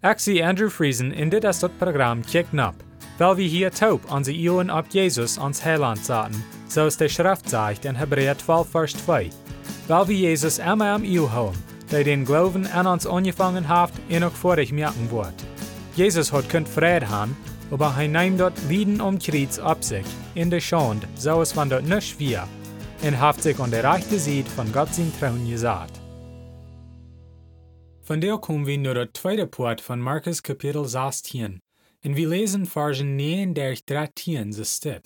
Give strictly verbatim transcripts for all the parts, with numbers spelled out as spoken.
Ik zie Andrew Friesen in dit is dat programma Kijk Nap, weil wir hier taub onze Ohren ab Jesus ans Heiland zaten, zoals de Schrift zegt in Hebräer twaalf vers twee. Weil wir Jesus immer am Eeuw houden, der den Glauben an uns angefangen hat en ook vorig merken wordt. Jesus hat kunt Frieden haben, aber hij nimmt dort Lieden um Kreuz ab sich, in der Schande, so es van dort nicht wir, en haft sich an der rechten Seite von Gott sein Thron gesagt. Von der kommen wir nur der zweite Part von Markus Kapitel sechzehn, und wir lesen Versen neun durch dreizehn, so steht.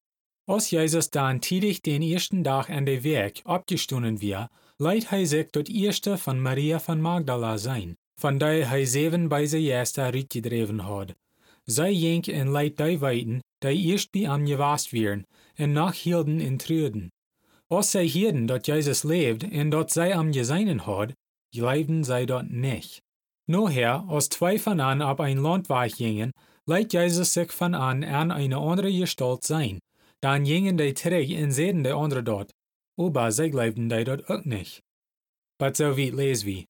Als Jesus dann tidig den ersten Tag an der Weg abgestunden war, leidt hij sich dort erste von Maria von Magdala sein, von der hij zeven bei se Jester uitgedreven had. Zij ging en leidt die weiten, die erst bei am gewast wären, en nachhielden in Trüden. Als zij hielden dat Jesus leeft en dat zij am geseinen had, leibten zij dort nicht. Noher, als zwei von an ab ein Landweg gingen, leidt Jesus sich von an an eine andere Gestalt sein. Dann gingen die terug en sehen die andere dort, aber zij leibten die dort auch nicht. But so weit lesen wir.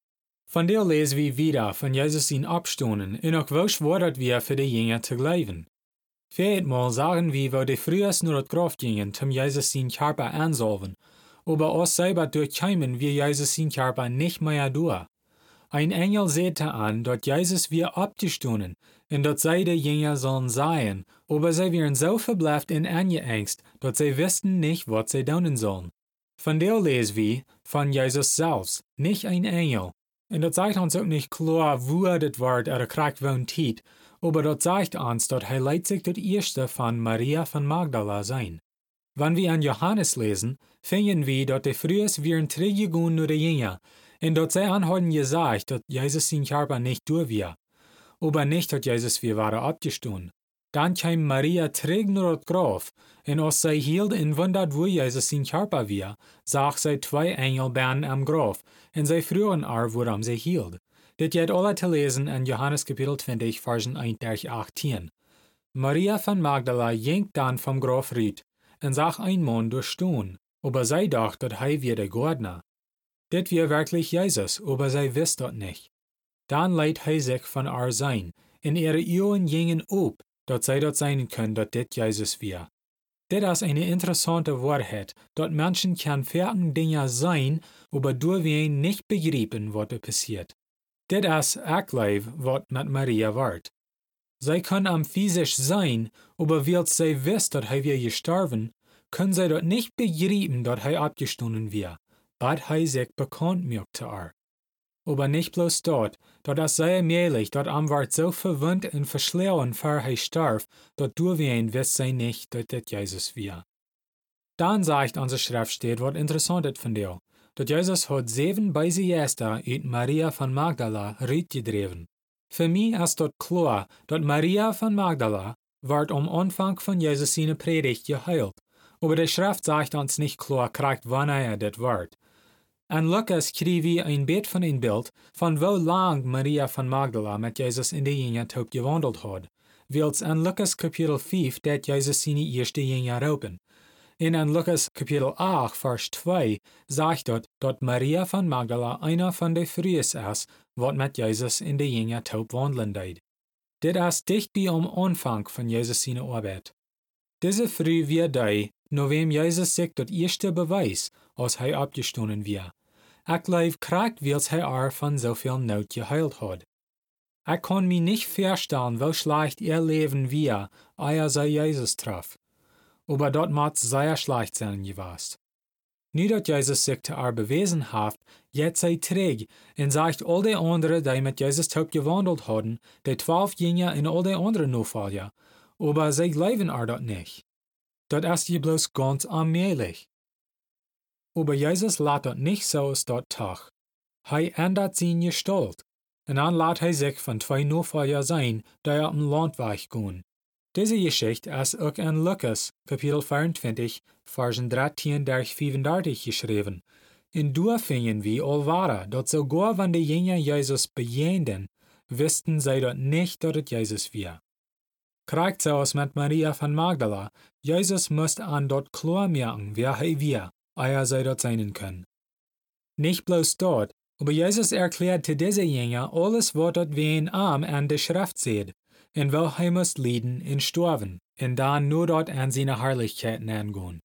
Von der lesen wir wieder von Jesus in Abstunden, en auch welch wordt wir für die Jünger zu glauben. Viermal sagen wir, wo die frühest nur das Grab gingen, zum Jesus sein Körper ansalven, aber als selber durchkämen wir Jesus sein Körper nicht mehr durch. Ein Engel sehte an, dort Jesus wir abgestunden, und dort sei die Jünger sollen sein, aber sie wären so verbleift in Angst, dort sie wussten nicht, was sie tun sollen. Von der lesen wir von Jesus selbst, nicht ein Engel. Und dort sagt uns auch nicht klar, wo das Wort oder Kraft wohnt hielt, aber dort sagt uns, dort er leidt sich das erste von Maria von Magdala sein. Wenn wir an Johannes lesen, finden wir, dort die frühest wären zurückgegangen nur die Jünger, und dort sie anhatten gesagt, dass Jesus sein Körper nicht durch war, aber nicht, dass Jesus wir waren abgestunden. Dann kam Maria zurück nur das Grab, und als sie hielt und wundert, wo Jesus sein Körper war, sah sie zwei Engel bären am Grab, und sie frühen auch, woran sie hielt. Dit geht alle zu lesen in Johannes Kapitel zwanzig, Versen eins durch achtzehn. Maria von Magdala ging dann vom Grab riet, und sah ein Mann durchstehen, aber sie dachte, dass er wäre der Gärtner. Dit war wirklich Jesus, aber sie wusste das nicht. Dann leidt er sich von ihr sein, und ihre Augen gingen auf, dass sie dort sein können, dass dit Jesus war. Dit ist eine interessante Wahrheit, dass Menschen kann fertige Dinge sein, aber durch wen nicht begreifen, was passiert. Dit ist auch was mit Maria wird. Sie können am physisch sein, aber weil sie wisst, dass er wir gestorben, können sie dort nicht begreifen, dass er abgestunden war, but er sich bekannt macht zu ihr. Aber nicht bloß dort, dort ist sehr möglich, dort am wird so verwundt und verschlauen, vor er starb, dort durch wen wisst sie nicht, dass das Jesus war. Dann sagt unsere Schrift steht, was interessant ist von dir, dass Jesus hat sieben bei sie Jester uit Maria von Magdala rausgedreven. Für mich ist dort klar, dass Maria von Magdala wird am Anfang von Jesus seine Predigt geheilt, aber die Schrift sagt uns nicht klar, kriegt wann er das wird. An Lukas kriegen wir ein Bild von ein Bild, von wo lang Maria von Magdala mit Jesus in die Jünger taub gewandelt hat, weil an Lukas Kapitel fünf dat Jesus seine erste Jünger rauben. In an Lukas Kapitel acht, Vers zwei sagt dort, dass Maria von Magdala einer von den frühesten ist, was mit Jesus in die Jünger taub wandeln deed. Dit ist dicht bei am Anfang von Jesus seine Arbeit. Diese früh wir die, nur wem Jesus sich das erste Beweis, als er abgestunden war. Ich glaube, kriegt, weil er von so viel Not geheilt hat. Ich kann mir nicht vorstellen, wie schlecht ihr Leben war, ehe sie Jesus traf. Aber dort muss sehr schlecht sein gewesen. Nicht, dass Jesus sich zu ihr bewiesen hat, jetzt sei träg und sagt all die anderen, die mit Jesus taub gewandelt hatten, die zwölf Jünger und all die anderen Nachfolger, aber sie glauben ihr dort nicht. Das ist ja bloß ganz allmählich. Aber Jesus lässt das nicht so aus dort Tag. Er ändert seine Gestalt, und dann lässt er sich von zwei Nachfolger sein, die auf dem Landweg gehen. Diese Geschichte ist auch in Lukas, Kapitel vierundzwanzig, Versen dreizehn durch fünfunddreißig geschrieben. In da finden wir allwara, dass sogar wenn die Jünger Jesus bejahten, wussten sie dort nicht, dass es Jesus war. Kriegt so aus mit Maria von Magdala, Jesus musste an dort klar merken, wer er war, ehe sie dort sein können. Nicht bloß dort, Aber Jesus erklärt zu diese Jünger alles, was dort wen am an der Schrift seht, und wo er muss leiden und sterben, und dann nur dort an seine Herrlichkeiten angehen.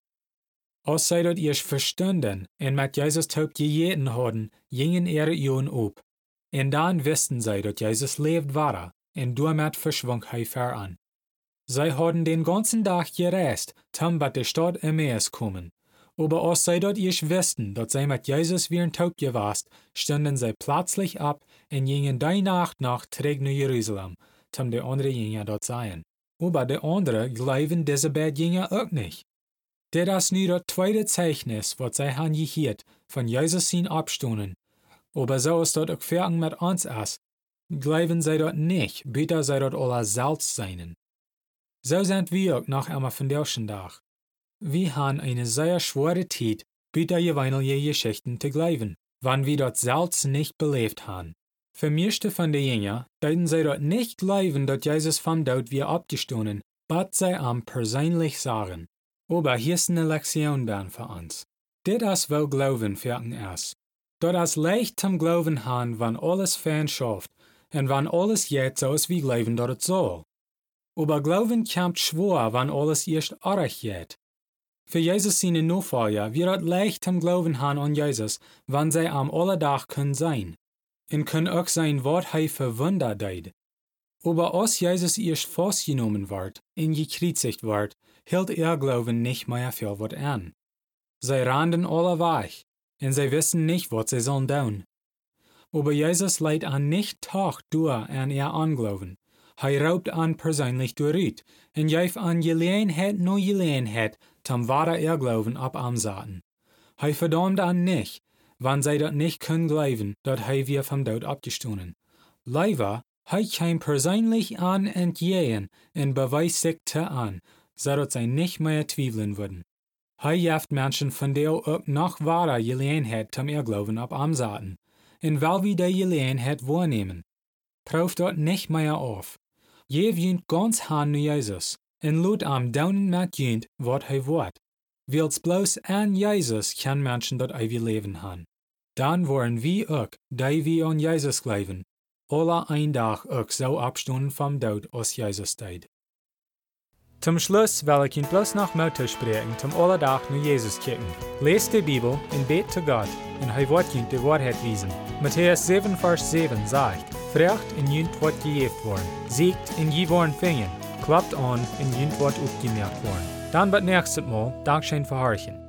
Als sei dort ihr verstanden, und mit Jesus taub gejeten haben, gingen ihre Augen auf. Und dann wussten sie, dass Jesus lebt war, und damit verschwang er voran. Sie hadden den ganzen Tag gereist, zum bei der Stadt Emmaus kommen. Aber als sie dort erst wussten, dass sie mit Jesus wie ein taub gewast, standen sie plötzlich ab und gingen die Nacht nach zurück nach Jerusalem, zum die andere Jünger dort seien. Aber die andere glauben diese beiden Jünger auch nicht. Das ist nu das zweite Zeichnis, was sie haben gehört, von Jesus sein Abstunden. Aber so ist dort auch fertig mit uns ist, glauben sie dort nicht, bitte sie dort alle selbst seien. So sind wir auch nach einem von Tag. Wir haben eine sehr schwere Zeit, bitte jeweilige Geschichten zu glauben, wann wir dort selbst nicht belebt haben. Für meiste von den Jüngern, deuten sie dort nicht glauben, dass Jesus vom Tod wir abgestoßen, but sie am persönlich sagen. Aber hier ist eine Lektion dann für uns. Das ist, wo Glauben fertig ist. Das ist leicht zum Glauben haben, wenn alles fern schafft, und wenn alles jetzt so ist wie Glauben dort soll. Aber Glauben kommt schwer, wenn alles erst arg geht. Für Jesus seine Nachfolger wird es leicht zum Glauben haben an Jesus, wenn sie am Alledach können sein. Und können auch sein, was er für Wunder tut. Aber als Jesus erst festgenommen wird und gekreuzigt wird, hielt ihr Glauben nicht mehr viel was an. Sie rannten alle weg, und sie wissen nicht, was sie sollen tun. Aber Jesus leidt an nicht Tag durch an ihr Anglauben. Er raubt an persönlich durch und geeft an Gelegenheit no Gelegenheit, zum wahre ihr Glauben ab am Saten. Er verdammt an nicht, wann sie das nicht können glauben, dass er wir vom Tod abgestoßen. Leider, er kam persönlich an entgegen und beweist sich zu an, so dass sie nicht mehr zweifeln würden. Er jaft Menschen von der auch noch wahre Gelegenheit zum ihr Glauben ab am Saten. Und weil wir die Gelegenheit wahrnehmen, prüft dort nicht mehr auf. Je wünt ganz han nu Jesus, en lud am daunen met jünt wat hij wordt. Wils bloos an Jesus kan Menschen dat ewig Leben han. Dan worden wie ook, die wie an Jesus glauben, alle ein dag ook so abstunden vom Tod als Jesus deed. Zum Schluss will ich Ihnen bloß noch Mut sprechen, zum Alledach nur Jesus kicken. Lest die Bibel und bet zu Gott, und er wird Ihnen die Wahrheit wiesen. Matthäus sieben, Vers sieben sagt, Frecht in Jünt wird gejeft worden, siegt in je worden fingen, klappt an in Jünt wird aufgemerkt worden. Dann wird nächstes Mal Dankeschön für Horchen.